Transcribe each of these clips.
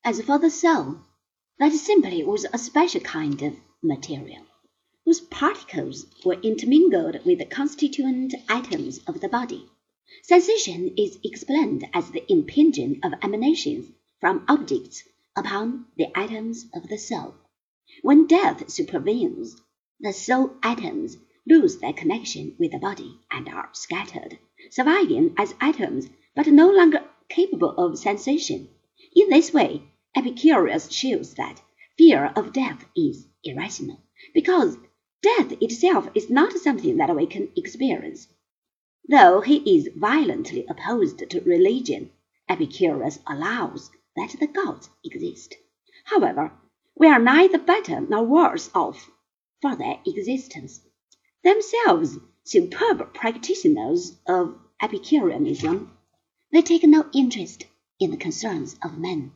As for the soul, that simply was a special kind of material, whose particles were intermingled with the constituent atoms of the body. Sensation is explained as the impinging of emanations from objects upon the atoms of the soul. When death supervenes, the soul atoms lose their connection with the body and are scattered, surviving as atoms but no longer capable of sensation. In this way, Epicurus shows that fear of death is irrational, because death itself is not something that we can experience. Though he is violently opposed to religion, Epicurus allows that the gods exist. However, we are neither better nor worse off for their existence. Themselves superb practitioners of Epicureanism, they take no interest in the concerns of men.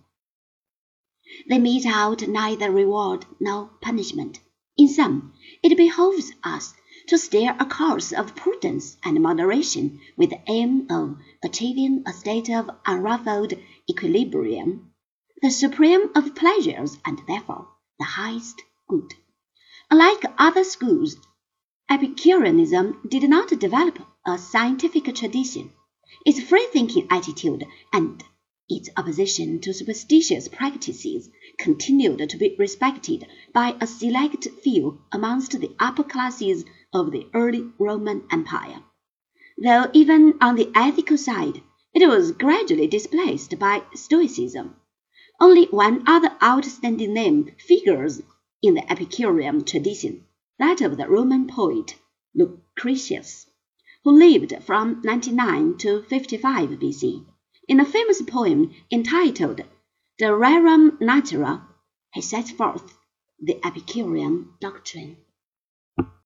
They mete out neither reward nor punishment. In sum, it behoves us to steer a course of prudence and moderation with the aim of achieving a state of unruffled equilibrium, the supreme of pleasures and therefore the highest good. Unlike other schools, Epicureanism did not develop a scientific tradition. Its free-thinking attitude and its opposition to superstitious practices continued to be respected by a select few amongst the upper classes of the early Roman Empire, though even on the ethical side it was gradually displaced by Stoicism. Only one other outstanding name figures in the Epicurean tradition, that of the Roman poet Lucretius, who lived from 99 to 55 BC. In a famous poem entitled De Rerum Natura, he sets forth the Epicurean doctrine.